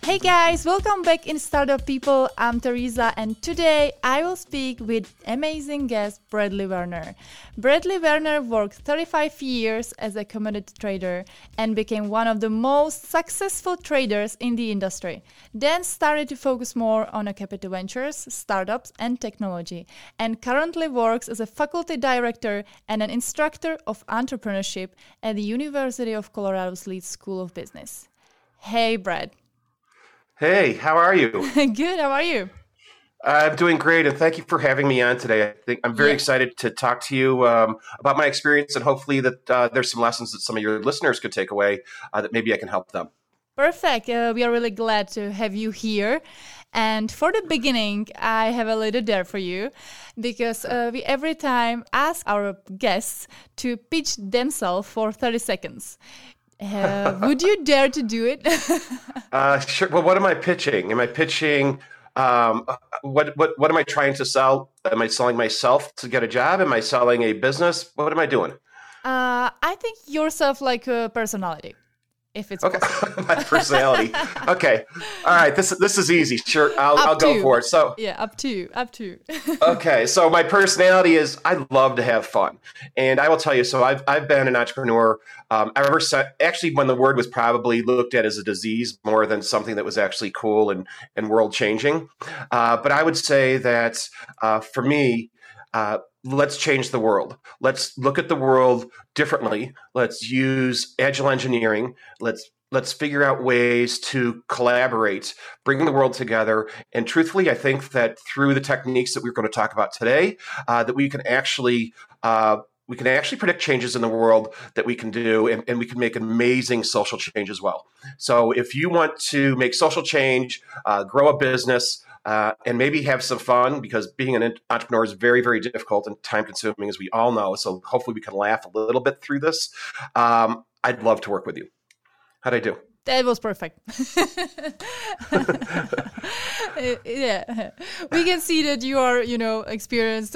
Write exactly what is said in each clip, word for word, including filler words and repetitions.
Hey guys, welcome back in Startup People. I'm Teresa and today I will speak with amazing guest Bradley Werner. Bradley Werner worked thirty-five years as a commodity trader and became one of the most successful traders in the industry. Then started to focus more on a capital ventures, startups and technology, and currently works as a faculty director and an instructor of entrepreneurship at the University of Colorado's Leeds School of Business. Hey Brad. Hey, how are you? Good, how are you? I'm doing great, and thank you for having me on today. I think I'm very Yeah. excited to talk to you um, about my experience, and hopefully that uh, there's some lessons that some of your listeners could take away uh, that maybe I can help them. Perfect. Uh, we are really glad to have you here. And for the beginning, I have a little dare for you because uh, we every time ask our guests to pitch themselves for thirty seconds. Uh, would you dare to do it? uh, sure. Well, what am I pitching? Am I pitching? Um, what what what am I trying to sell? Am I selling myself to get a job? Am I selling a business? What am I doing? Uh, I think yourself like a personality, if it's Okay, possible. my personality. Okay, all right. This this is easy. Sure, I'll Up I'll go to. for it. So. Yeah, up to you, up to you. Okay, so my personality is I love to have fun, and I will tell you. So I've I've been an entrepreneur. Um, I remember se- actually when the word was probably looked at as a disease more than something that was actually cool and and world changing. Uh, but I would say that uh, for me. Uh, let's change the world. Let's look at the world differently. Let's use agile engineering. Let's let's figure out ways to collaborate, bring the world together. And truthfully, I think that through the techniques that we're going to talk about today, uh, that we can actually uh, we can actually predict changes in the world that we can do, and, and we can make amazing social change as well. So if you want to make social change, uh, grow a business, Uh, and maybe have some fun, because being an entrepreneur is very, very difficult and time consuming, as we all know. So hopefully we can laugh a little bit through this. Um, I'd love to work with you. How'd I do? That was perfect. Yeah, we can see that you are, you know, experienced.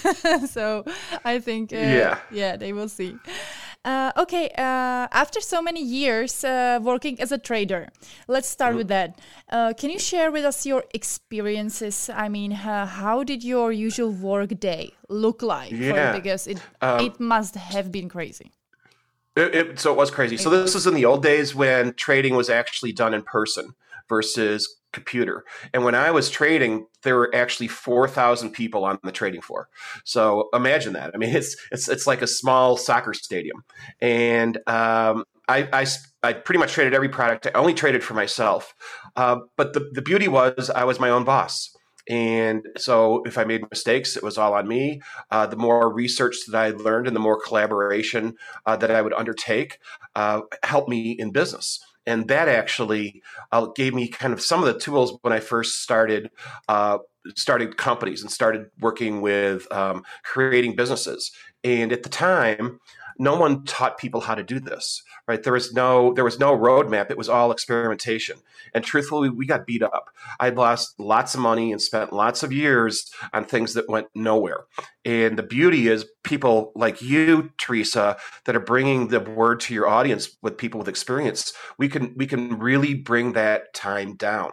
So I think, uh, Yeah. yeah, they will see. Uh, okay, uh, after so many years uh, working as a trader, let's start Mm-hmm. with that. Uh, can you share with us your experiences? I mean, uh, how did your usual work day look like? For you? Yeah. Because it Um, it must have been crazy. It, it, so it was crazy. So this is in the old days when trading was actually done in person versus computer. And when I was trading, there were actually four thousand people on the trading floor. So imagine that. I mean, it's it's it's like a small soccer stadium. And um, I, I, I pretty much traded every product. I only traded for myself. Uh, but the, the beauty was I was my own boss. And so if I made mistakes, it was all on me. Uh, the more research that I learned and the more collaboration uh, that I would undertake uh, helped me in business. And that actually uh, gave me kind of some of the tools when I first started uh, started companies and started working with um, creating businesses. And at the time, no one taught people how to do this, right? There was no there was no roadmap. It was all experimentation. And truthfully, we got beat up. I lost lots of money and spent lots of years on things that went nowhere. And the beauty is people like you, Teresa, that are bringing the word to your audience with people with experience. We can we can really bring that time down.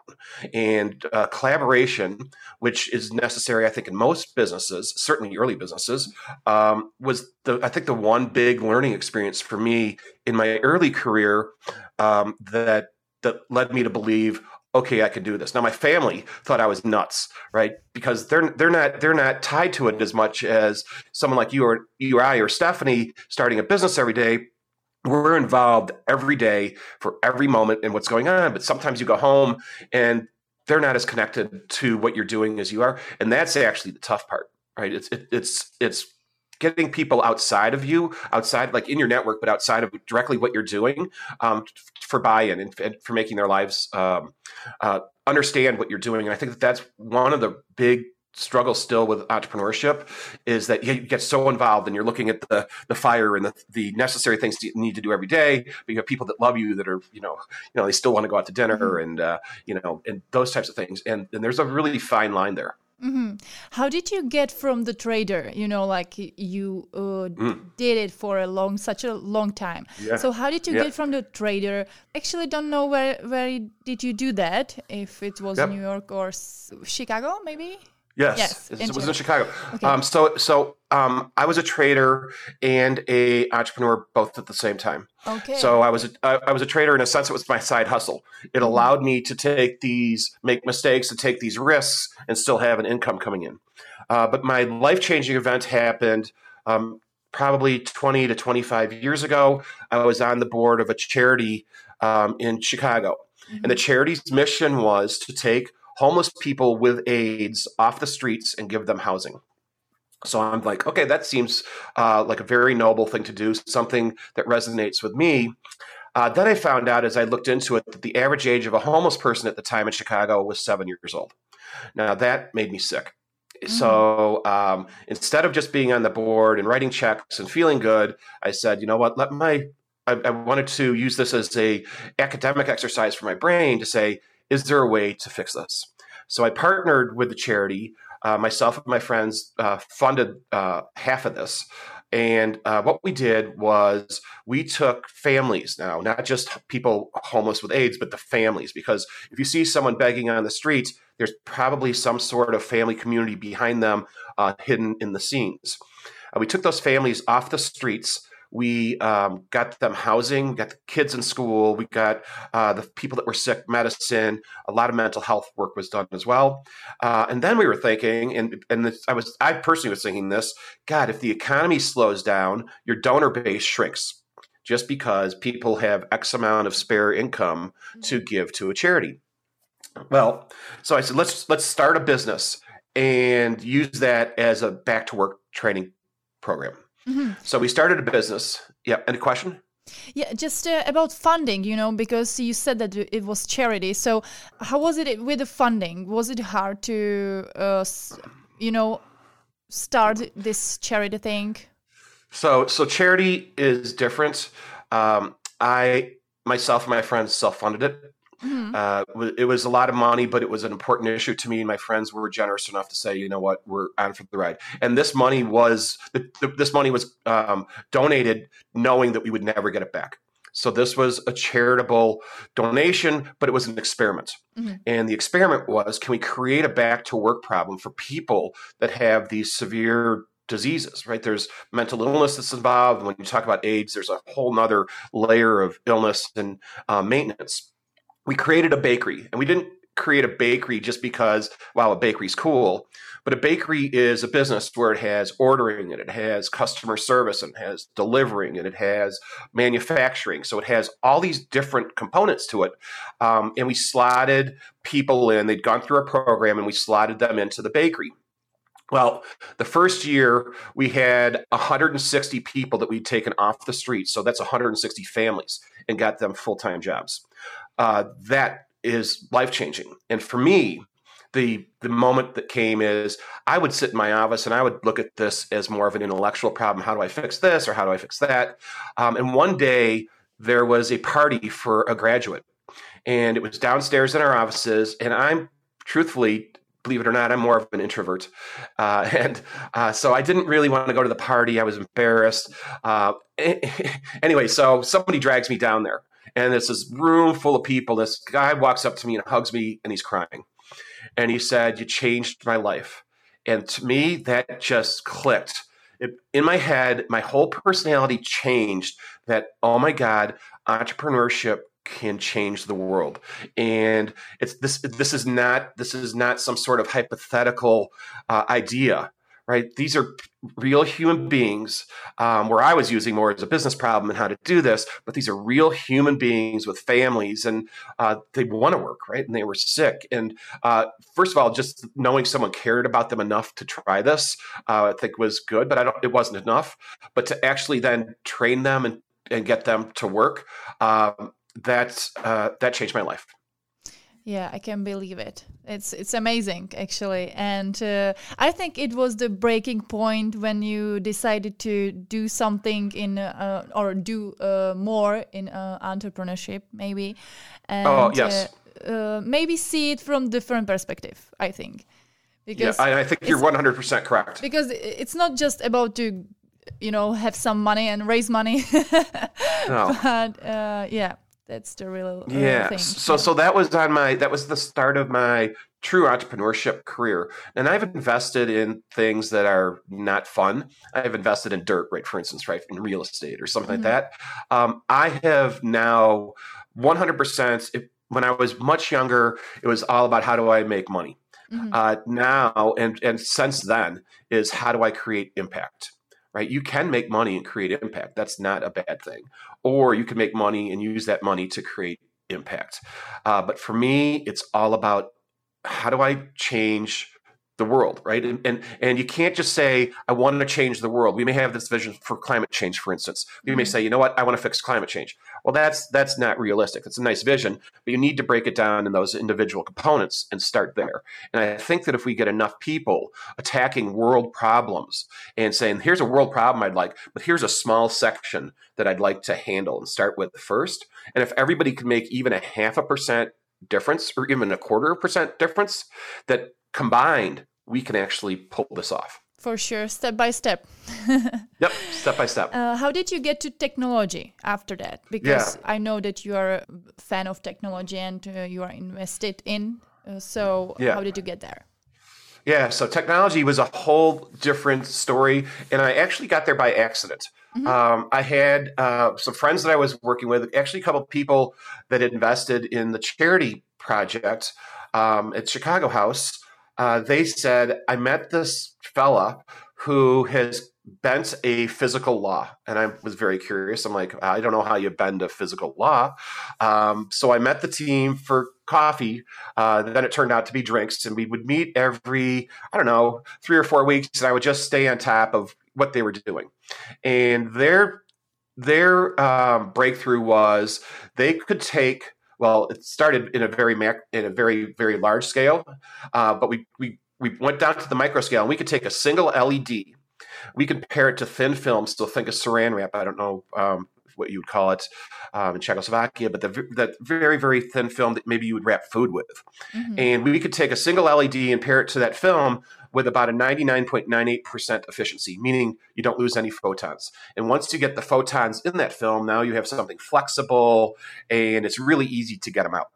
And uh, collaboration, which is necessary, I think, in most businesses, certainly early businesses, um, was the I think the one big learning experience for me in my early career um, that that led me to believe, okay, I can do this. Now, my family thought I was nuts, right? Because they're they're not they're not tied to it as much as someone like you or you or I or Stephanie starting a business every day. We're involved every day for every moment in what's going on. But sometimes you go home and they're not as connected to what you're doing as you are, and that's actually the tough part, right? It's it, it's it's getting people outside of you, outside, like in your network, but outside of directly what you're doing, um, for buy-in and, and for making their lives um, uh, understand what you're doing. And I think that that's one of the big struggles still with entrepreneurship, is that you get so involved and you're looking at the the fire and the, the necessary things you need to do every day. But you have people that love you that are, you know, you know, they still want to go out to dinner and, uh, you know, and those types of things. And, and there's a really fine line there. Mm-hmm. How did you get from the trader? You know, like you uh, mm. did it for a long, such a long time. Yeah. So how did you yeah. get from the trader? Actually, don't know where where did you do that? If it was yep. New York or S- Chicago, maybe. Yes, yes it, it was in Chicago. Okay. Um, so, so um, I was a trader and a entrepreneur both at the same time. Okay. So I was a, I was a trader in a sense. It was my side hustle. It mm-hmm. allowed me to take these, make mistakes, and take these risks, and still have an income coming in. Uh, but my life changing event happened um, probably twenty to twenty-five years ago. I was on the board of a charity um, in Chicago, mm-hmm. and the charity's mission was to take homeless people with AIDS off the streets and give them housing. So I'm like, okay, that seems uh, like a very noble thing to do, something that resonates with me. Uh, then I found out as I looked into it that the average age of a homeless person at the time in Chicago was seven years old. Now that made me sick. Mm. So um, instead of just being on the board and writing checks and feeling good, I said, you know what, let my, I, I wanted to use this as a academic exercise for my brain to say, is there a way to fix this? So I partnered with the charity. Uh, myself and my friends uh, funded uh, half of this. And uh, what we did was we took families now, not just people homeless with AIDS, but the families. Because if you see someone begging on the streets, there's probably some sort of family community behind them uh, hidden in the scenes. Uh, we took those families off the streets. We um, got them housing, we got the kids in school, we got uh, the people that were sick medicine, a lot of mental health work was done as well. Uh, and then we were thinking, and, and this, I was, I personally was thinking this, God, if the economy slows down, your donor base shrinks just because people have X amount of spare income to give to a charity. Well, so I said, let's, let's start a business and use that as a back to work training program. Mm-hmm. So we started a business. Yeah. Any question? Yeah, just uh, about funding, you know, because you said that it was charity. So how was it with the funding? Was it hard to, uh, you know, start this charity thing? So, so charity is different. Um, I, myself and my friends self-funded it. Mm-hmm. Uh, it was a lot of money, but it was an important issue to me. And my friends were generous enough to say, you know what, we're on for the ride. And this money was this money was um, donated knowing that we would never get it back. So this was a charitable donation, but it was an experiment. Mm-hmm. And the experiment was, can we create a back to work problem for people that have these severe diseases, right? There's mental illness that's involved. When you talk about AIDS, there's a whole nother layer of illness and uh, maintenance. We created a bakery, and we didn't create a bakery just because, wow, a bakery's cool. But a bakery is a business where it has ordering, and it has customer service, and it has delivering, and it has manufacturing. So it has all these different components to it. Um, and we slotted people in. They'd gone through our program, and we slotted them into the bakery. Well, the first year we had one hundred sixty people that we'd taken off the street. So that's one hundred sixty families, and got them full-time jobs. Uh, that is life-changing. And for me, the the moment that came is I would sit in my office and I would look at this as more of an intellectual problem. How do I fix this or how do I fix that? Um, and one day there was a party for a graduate, and it was downstairs in our offices. And I'm truthfully, believe it or not, I'm more of an introvert. Uh, and uh, so I didn't really want to go to the party. I was embarrassed. Uh, anyway, so somebody drags me down there. And it's this room full of people. This guy walks up to me and hugs me, and he's crying. And he said, "You changed my life." And to me, that just clicked. It, in my head, my whole personality changed that, oh my God, entrepreneurship can change the world. And it's this this is not this is not some sort of hypothetical uh, idea. Right? These are real human beings, um, where I was using more as a business problem and how to do this, but these are real human beings with families, and uh, they want to work, right? And they were sick. And uh, first of all, just knowing someone cared about them enough to try this, uh, I think was good, but I don't, it wasn't enough. But to actually then train them and, and get them to work, um, that, uh, that changed my life. Yeah, I can believe it. It's it's amazing, actually. And uh, I think it was the breaking point when you decided to do something in uh, or do uh, more in uh, entrepreneurship, maybe. And, oh, yes. Uh, uh, maybe see it from different perspective, I think. Because yeah, I, I think you're one hundred percent correct. Because it's not just about to, you know, have some money and raise money. No. But uh, yeah, that's the real, real yeah. thing. So yeah. so that was on my that was the start of my true entrepreneurship career. And I've invested in things that are not fun. I've invested in dirt, right? For instance, right, in real estate or something mm-hmm. like that. Um, I have now one hundred percent. If, when I was much younger, it was all about how do I make money. Mm-hmm. Uh, now and and since then is how do I create impact, right? You can make money and create impact. That's not a bad thing. Or you can make money and use that money to create impact. Uh, but for me, it's all about how do I change the world, right? And, and and you can't just say, I want to change the world. We may have this vision for climate change, for instance. We mm-hmm. may say, you know what, I want to fix climate change. Well, that's that's not realistic. It's a nice vision, but you need to break it down in those individual components and start there. And I think that if we get enough people attacking world problems and saying, here's a world problem I'd like, but here's a small section that I'd like to handle and start with first. And if everybody can make even a half a percent difference or even a quarter of a percent difference, that combined, we can actually pull this off. For sure, step by step. Yep, step by step. Uh, how did you get to technology after that? Because yeah. I know that you are a fan of technology and uh, you are invested in. Uh, so yeah. How did you get there? Yeah, so technology was a whole different story. And I actually got there by accident. Mm-hmm. Um, I had uh, some friends that I was working with, actually a couple of people that had invested in the charity project um, at Chicago House. Uh, they said, I met this fella who has bent a physical law. And I was very curious. I'm like, I don't know how you bend a physical law. Um, so I met the team for coffee. Uh, then it turned out to be drinks. And we would meet every, I don't know, three or four weeks. And I would just stay on top of what they were doing. And their, their um, breakthrough was they could take, well, it started in a very mac, in a very, very large scale, uh, but we, we, we went down to the micro scale and we could take a single L E D. We could pair it to thin film. Still think of saran wrap. I don't know um, what you would call it um, in Czechoslovakia, but the, that very, very thin film that maybe you would wrap food with. Mm-hmm. And we could take a single L E D and pair it to that film with about a ninety-nine point nine eight percent efficiency, meaning you don't lose any photons. And once you get the photons in that film, now you have something flexible and it's really easy to get them out.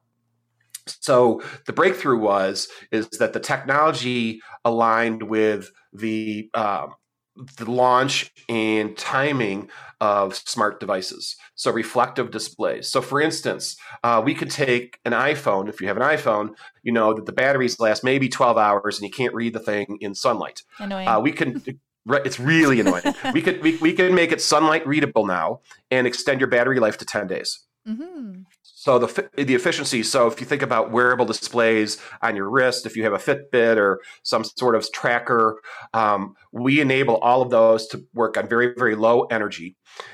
So the breakthrough was, is that the technology aligned with the, um, the launch and timing of smart devices. So reflective displays. So for instance, uh, we could take an iPhone. If you have an iPhone, you know that the batteries last maybe twelve hours and you can't read the thing in sunlight. Annoying. Uh, we can, it's really annoying. we could, we, we can make it sunlight readable now and extend your battery life to ten days. Mm-hmm. So the the efficiency, so if you think about wearable displays on your wrist, if you have a Fitbit or some sort of tracker, um, we enable all of those to work on very, very low energy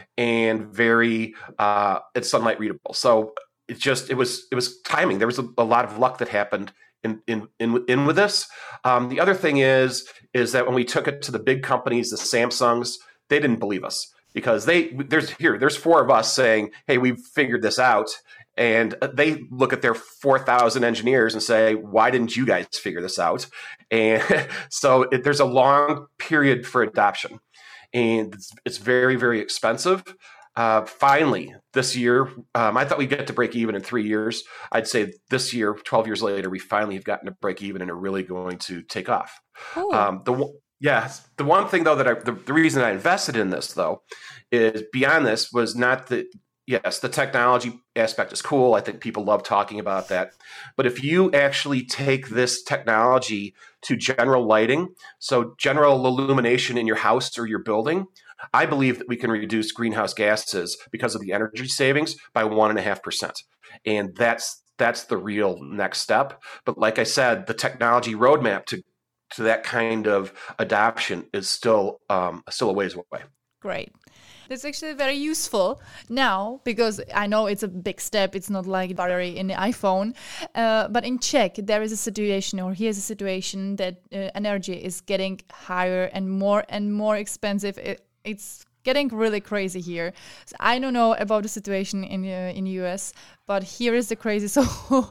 and very, uh, it's sunlight readable. So it just, it was, it was timing. There was a, a lot of luck that happened in, in, in, in with this. Um, the other thing is, is that when we took it to the big companies, the Samsungs, they didn't believe us. Because they there's here there's four of us saying, hey, we've figured this out, and they look at their four thousand engineers and say, why didn't you guys figure this out? And so it, there's a long period for adoption, and it's, it's very, very expensive. Uh, finally, this year, um, I thought we'd get to break even in three years. I'd say this year, twelve years later, we finally have gotten to break even and are really going to take off. Oh. Um, the Yes. The one thing, though, that I, the, the reason I invested in this, though, is beyond this was not that, yes, the technology aspect is cool. I think people love talking about that. But if you actually take this technology to general lighting, so general illumination in your house or your building, I believe that we can reduce greenhouse gases because of the energy savings by one and a half percent. And that's that's the real next step. But like I said, the technology roadmap to to that kind of adoption is still um, still a ways away. Great. That's actually very useful now because I know it's a big step. It's not like battery in the iPhone. Uh, but in Czech, there is a situation, or here's a situation that uh, energy is getting higher and more and more expensive. It, it's getting really crazy here. So I don't know about the situation in uh, in U S, but here is the crazy. So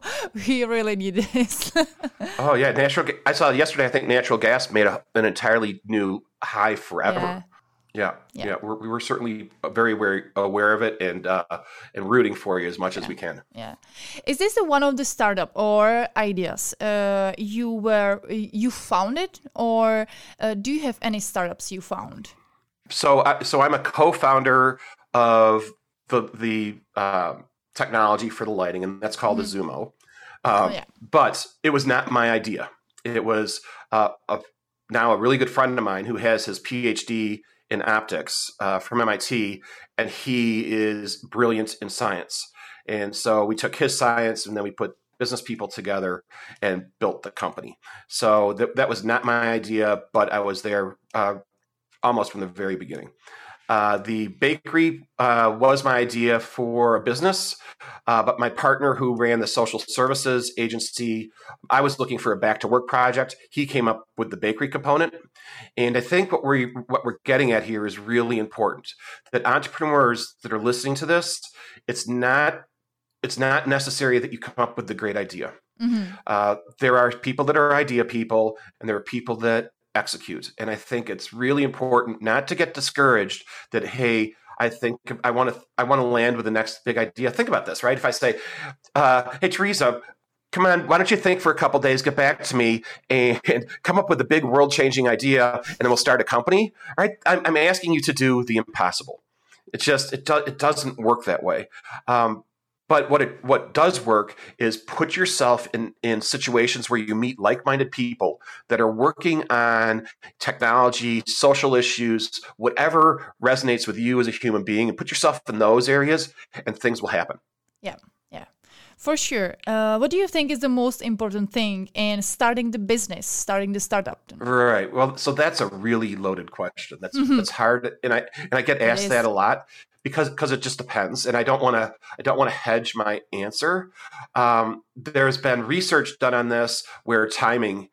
we really need this. Oh yeah, natural. Ga- I saw yesterday. I think natural gas made a, an entirely new high forever. Yeah. Yeah, Yeah. yeah. We're, we were certainly very, very aware of it, and uh, and rooting for you as much Yeah. as we can. Yeah. Is this the one of the startup or ideas uh, you were you found it, or uh, do you have any startups you found? So, I, so I'm a co-founder of the the um, technology for the lighting, and that's called Mm-hmm. a Zumo. Um, Oh yeah. But it was not my idea. It was uh, a, now a really good friend of mine who has his PhD in optics uh, from M I T, and he is brilliant in science. And so we took his science, and then we put business people together and built the company. So th- that was not my idea, but I was there uh, almost from the very beginning. Uh, the bakery uh, was my idea for a business, uh, but my partner who ran the social services agency, I was looking for a back to work project. He came up with the bakery component. And I think what we what we're getting at here is really important. That entrepreneurs that are listening to this, it's not it's not necessary that you come up with the great idea. Mm-hmm. Uh, there are people that are idea people, and there are people that execute. And I think it's really important not to get discouraged that, hey, I think I want to I want to land with the next big idea. Think about this, right? If I say, uh, hey, Teresa, come on, why don't you think for a couple of days, get back to me and, and come up with a big world-changing idea, and then we'll start a company, right? I'm, I'm asking you to do the impossible. It's just, it, do, it doesn't work that way. Um, But what it what does work is put yourself in, in situations where you meet like-minded people that are working on technology, social issues, whatever resonates with you as a human being, and put yourself in those areas, and things will happen. Yeah, yeah, for sure. Uh, what do you think is the most important thing in starting the business, starting the startup? Right. Well, so that's a really loaded question. That's mm-hmm. that's hard, and I and I get asked that a lot. Because because it just depends, and I don't want to I don't want to hedge my answer. Um, there's been research done on this where timing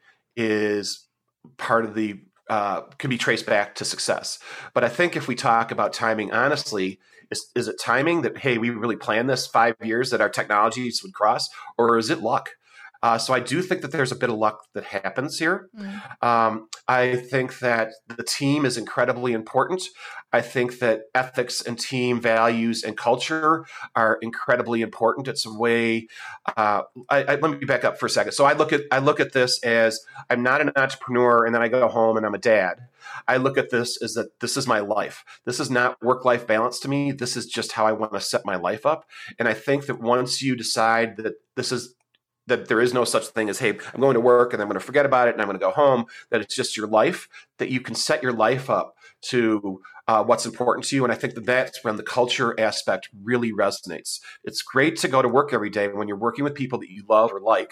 is part of the uh, can be traced back to success. But I think if we talk about timing honestly, is is it timing that, hey, we really planned this five years that our technologies would cross, or is it luck? Uh, so I do think that there's a bit of luck that happens here. Mm. Um, I think that the team is incredibly important. I think that ethics and team values and culture are incredibly important. It's a way. Uh, I, I, let me back up for a second. So I look at I look at this as I'm not an entrepreneur, and then I go home and I'm a dad. I look at this as that this is my life. This is not work-life balance to me. This is just how I want to set my life up. And I think that once you decide that this is that there is no such thing as, hey, I'm going to work and I'm going to forget about it and I'm going to go home, that it's just your life, that you can set your life up to uh, what's important to you. And I think that that's when the culture aspect really resonates. It's great to go to work every day when you're working with people that you love or like,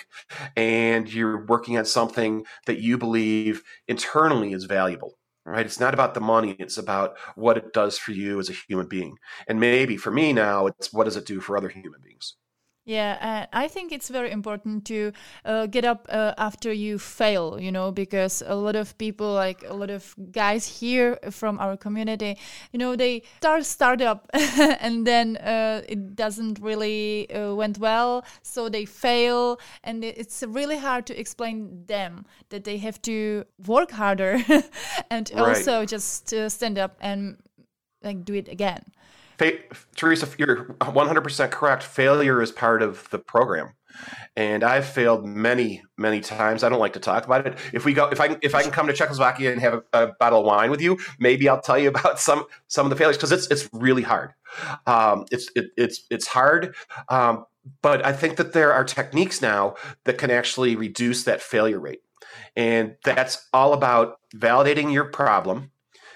and you're working on something that you believe internally is valuable. Right? It's not about the money. It's about what it does for you as a human being. And maybe for me now, it's what does it do for other human beings? Yeah, uh, I think it's very important to uh, get up uh, after you fail, you know, because a lot of people, like a lot of guys here from our community, you know, they start startup and then uh, it doesn't really uh, went well, so they fail, and it's really hard to explain them that they have to work harder and right. also just uh, stand up and like do it again. Fa- Teresa, you're one hundred percent correct. Failure is part of the program, and I've failed many, many times. I don't like to talk about it. If we go, if I if I can come to Czechoslovakia and have a, a bottle of wine with you, maybe I'll tell you about some some of the failures, because it's it's really hard. Um, it's it, it's it's hard, um, but I think that there are techniques now that can actually reduce that failure rate, and that's all about validating your problem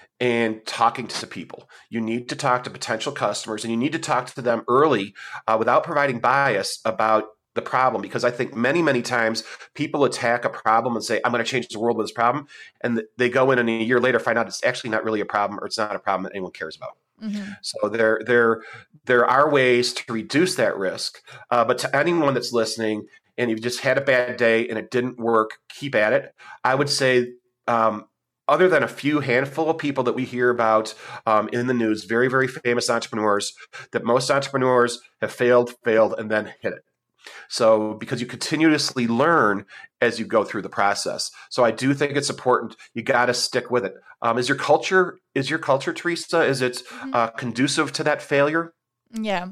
and talking to people. You need to talk to potential customers, and you need to talk to them early uh, without providing bias about the problem. Because I think many, many times people attack a problem and say, I'm going to change the world with this problem. And they go in and a year later find out it's actually not really a problem, or it's not a problem that anyone cares about. Mm-hmm. So there, there, there are ways to reduce that risk. Uh, but to anyone that's listening and you've just had a bad day and it didn't work, keep at it. I would say, um, other than a few handful of people that we hear about um, in the news, very, very famous entrepreneurs, that most entrepreneurs have failed, failed, and then hit it. So because you continuously learn as you go through the process. So I do think it's important. You got to stick with it. Um, is your culture, is your culture, Teresa, is it uh, conducive to that failure? Yeah.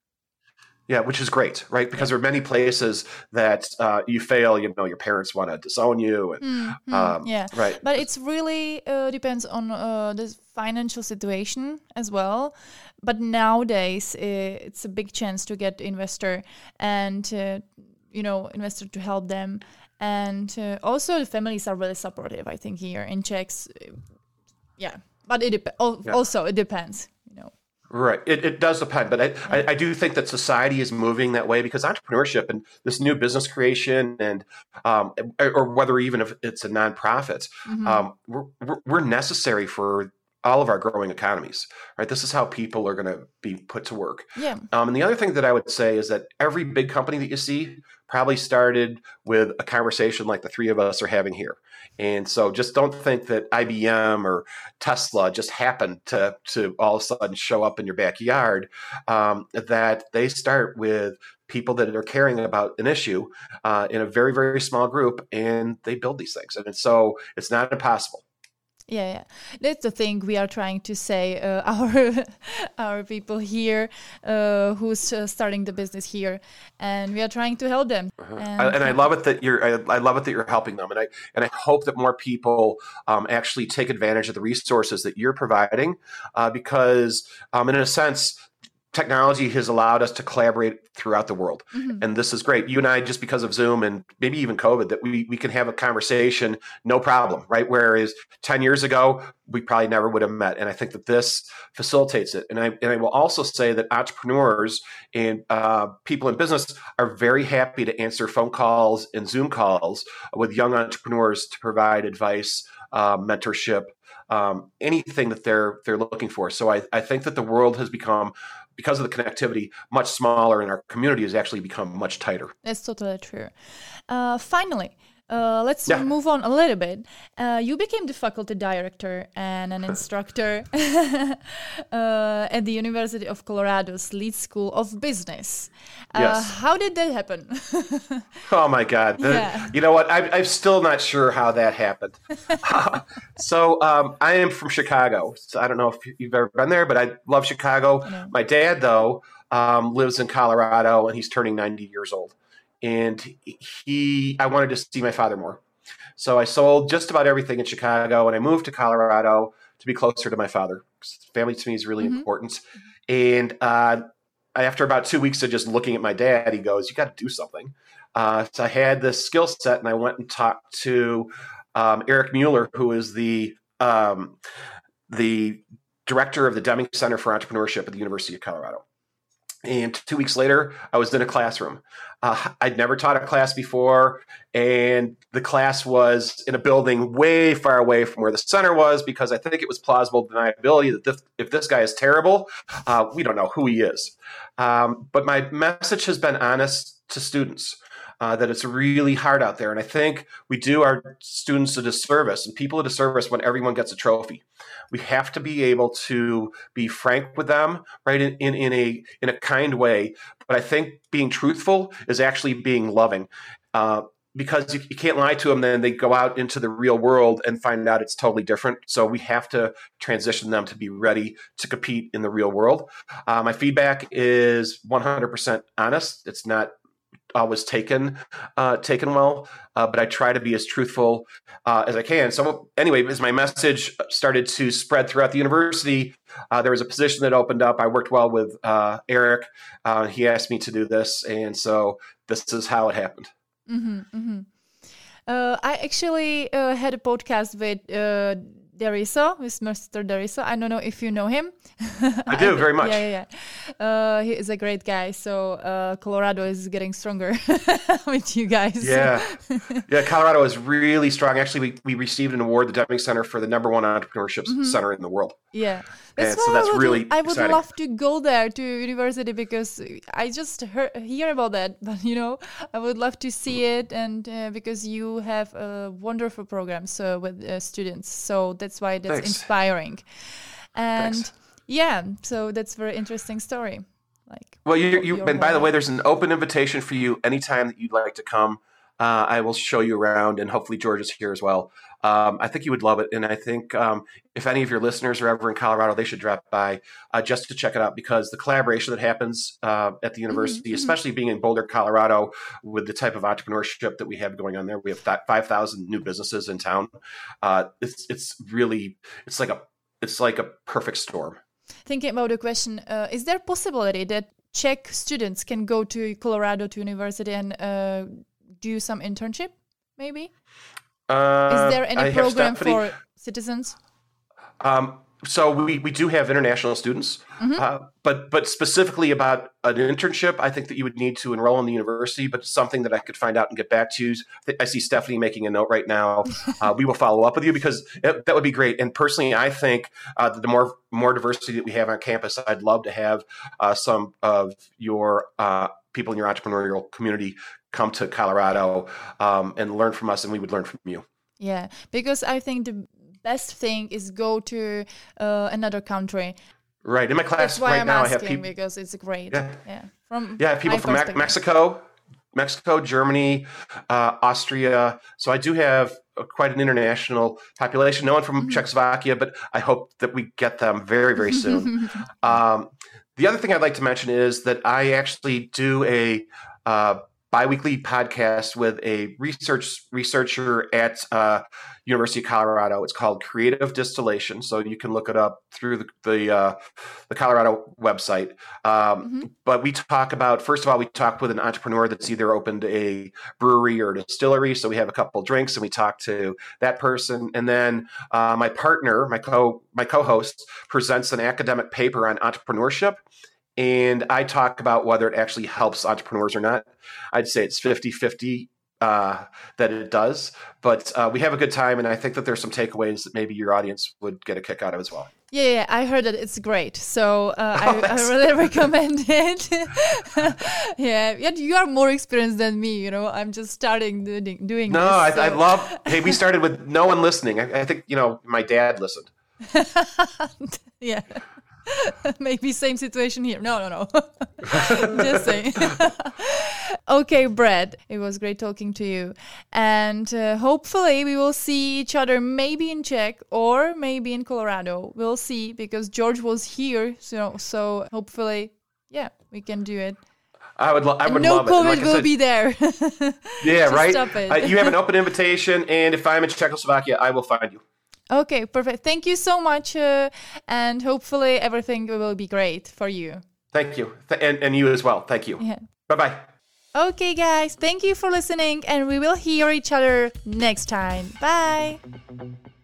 Yeah, which is great, right? Because there are many places that uh, you fail, you know, your parents want to disown you. And, mm-hmm. um, yeah, right. But it's really uh, depends on uh, the financial situation as well. But nowadays, uh, it's a big chance to get investor and, uh, you know, investor to help them. And uh, also the families are really supportive, I think, here in Czechs. Yeah, but it dep- also, yeah. it depends, you know. Right. It, it does depend. But I, I, I do think that society is moving that way because entrepreneurship and this new business creation and um, or whether even if it's a nonprofit, mm-hmm. um, we're, we're necessary for all of our growing economies. Right. This is how people are going to be put to work. Yeah. Um, and the other thing that I would say is that every big company that you see probably started with a conversation like the three of us are having here. And so just don't think that I B M or Tesla just happened to, to all of a sudden show up in your backyard, um, that they start with people that are caring about an issue uh, in a very, very small group, and they build these things. And so it's not impossible. Yeah, yeah, that's the thing we are trying to say. Uh, our our people here, uh, who's uh, starting the business here, and we are trying to help them. Uh-huh. And, I, and I love it that you're. I, I love it that you're helping them, and I and I hope that more people um, actually take advantage of the resources that you're providing, uh, because um, in a sense, technology has allowed us to collaborate throughout the world. Mm-hmm. And this is great. You and I, just because of Zoom and maybe even COVID, that we, we can have a conversation, no problem, right? Whereas ten years ago, we probably never would have met. And I think that this facilitates it. And I, and I will also say that entrepreneurs and uh, people in business are very happy to answer phone calls and Zoom calls with young entrepreneurs to provide advice, uh, mentorship, um, anything that they're they're looking for. So I, I think that the world has become, because of the connectivity, much smaller, and our community has actually become much tighter. That's totally true. Uh, finally, uh, let's yeah. move on a little bit. Uh, you became the faculty director and an instructor uh, at the University of Colorado's Leeds School of Business. Uh, yes. How did that happen? Oh, my God. Yeah. You know what? I, I'm still not sure how that happened. So um, I am from Chicago. So I don't know if you've ever been there, but I love Chicago. I My dad, though, um, lives in Colorado, and he's turning ninety years old. And he, I wanted to see my father more. So I sold just about everything in Chicago, and I moved to Colorado to be closer to my father. Family to me is really mm-hmm. important. And uh, after about two weeks of just looking at my dad, he goes, "You got to do something." Uh, so I had this skill set, and I went and talked to um, Eric Mueller, who is the um, the director of the Deming Center for Entrepreneurship at the University of Colorado. And two weeks later, I was in a classroom. Uh, I'd never taught a class before, and the class was in a building way far away from where the center was, because I think it was plausible deniability that this, if this guy is terrible, uh, we don't know who he is. Um, but my message has been honest to students. Uh, that it's really hard out there. And I think we do our students a disservice and people a disservice when everyone gets a trophy. We have to be able to be frank with them, right, in, in, in a in a kind way. But I think being truthful is actually being loving, uh, because you, you can't lie to them. Then they go out into the real world and find out it's totally different. So we have to transition them to be ready to compete in the real world. Uh, my feedback is one hundred percent honest. It's not always taken uh, taken well, uh, but I try to be as truthful uh, as I can. So anyway, as my message started to spread throughout the university, uh, there was a position that opened up. I worked well with uh, Eric. Uh, he asked me to do this, and so this is how it happened. Mm-hmm, mm-hmm. Uh, I actually uh, had a podcast with uh, Deriso, with Mister Deriso. I don't know if you know him. I do, very much. Yeah, yeah, yeah. Uh, he is a great guy. So uh, Colorado is getting stronger with you guys. Yeah. Yeah, Colorado is really strong. Actually, we, we received an award, the Deming Center, for the number one entrepreneurship mm-hmm. center in the world. Yeah. That's and so that's I would, really I would exciting. love to go there to university because I just heard, hear about that. But, you know, I would love to see it. And uh, because you have a wonderful program so with uh, students. So that's why that's Thanks. inspiring. And Thanks. yeah, so that's a very interesting story. Like, well, you, you and by the way, there's an open invitation for you anytime that you'd like to come. Uh, I will show you around, and hopefully George is here as well. Um, I think you would love it, and I think um, if any of your listeners are ever in Colorado, they should drop by uh, just to check it out, because the collaboration that happens uh, at the university, mm-hmm. especially being in Boulder, Colorado, with the type of entrepreneurship that we have going on there, we have five thousand new businesses in town. Uh, it's it's really it's like a it's like a perfect storm. Thinking about the question, uh, is there a possibility that Czech students can go to Colorado to university and uh, do some internship, maybe? Uh, Is there any I program Stephanie, for citizens? Um, so we, we do have international students, mm-hmm. uh, but but specifically about an internship, I think that you would need to enroll in the university, but something that I could find out and get back to you. I see Stephanie making a note right now. Uh, we will follow up with you because it, that would be great. And personally, I think uh, that the more more diversity that we have on campus, I'd love to have uh, some of your uh, people in your entrepreneurial community come to Colorado um, and learn from us, and we would learn from you. Yeah, because I think the best thing is go to uh, another country. Right. In my class That's why right I'm now, asking, I have people. Because it's great. Yeah. Yeah. From yeah, people from Me- Mexico, Mexico, Germany, uh, Austria. So I do have a, quite an international population. No one from mm-hmm. Czechoslovakia, but I hope that we get them very, very soon. um, the other thing I'd like to mention is that I actually do a uh, biweekly podcast with a research researcher at uh, University of Colorado. It's called Creative Distillation, so you can look it up through the the, uh, the Colorado website. Um, mm-hmm. But we talk about, first of all, we talk with an entrepreneur that's either opened a brewery or a distillery. So we have a couple drinks and we talk to that person, and then uh, my partner, my co my co-host, presents an academic paper on entrepreneurship. And I talk about whether it actually helps entrepreneurs or not. I'd say it's fifty-fifty uh, that it does. But uh, we have a good time, and I think that there's some takeaways that maybe your audience would get a kick out of as well. Yeah, yeah, I heard that it's great. So uh, oh, I, I really recommend it. yeah, yet you are more experienced than me, you know. I'm just starting doing, doing no, this. No, I, so. I love, hey, we started with no one listening. I, I think, you know, my dad listened. yeah. Maybe same situation here. No, no, no. Just saying. Okay, Brad, it was great talking to you. And uh, hopefully we will see each other maybe in Czech or maybe in Colorado. We'll see, because George was here. So so hopefully, yeah, we can do it. I would, lo- I would no love it. COVID like will said, be there. yeah, right? Stop it. uh, you have an open invitation, and if I'm in Czechoslovakia, I will find you. Okay, perfect. Thank you so much, uh, and hopefully everything will be great for you. Thank you. Th- and, and you as well. Thank you. Yeah. Bye-bye. Okay, guys. Thank you for listening, and we will hear each other next time. Bye.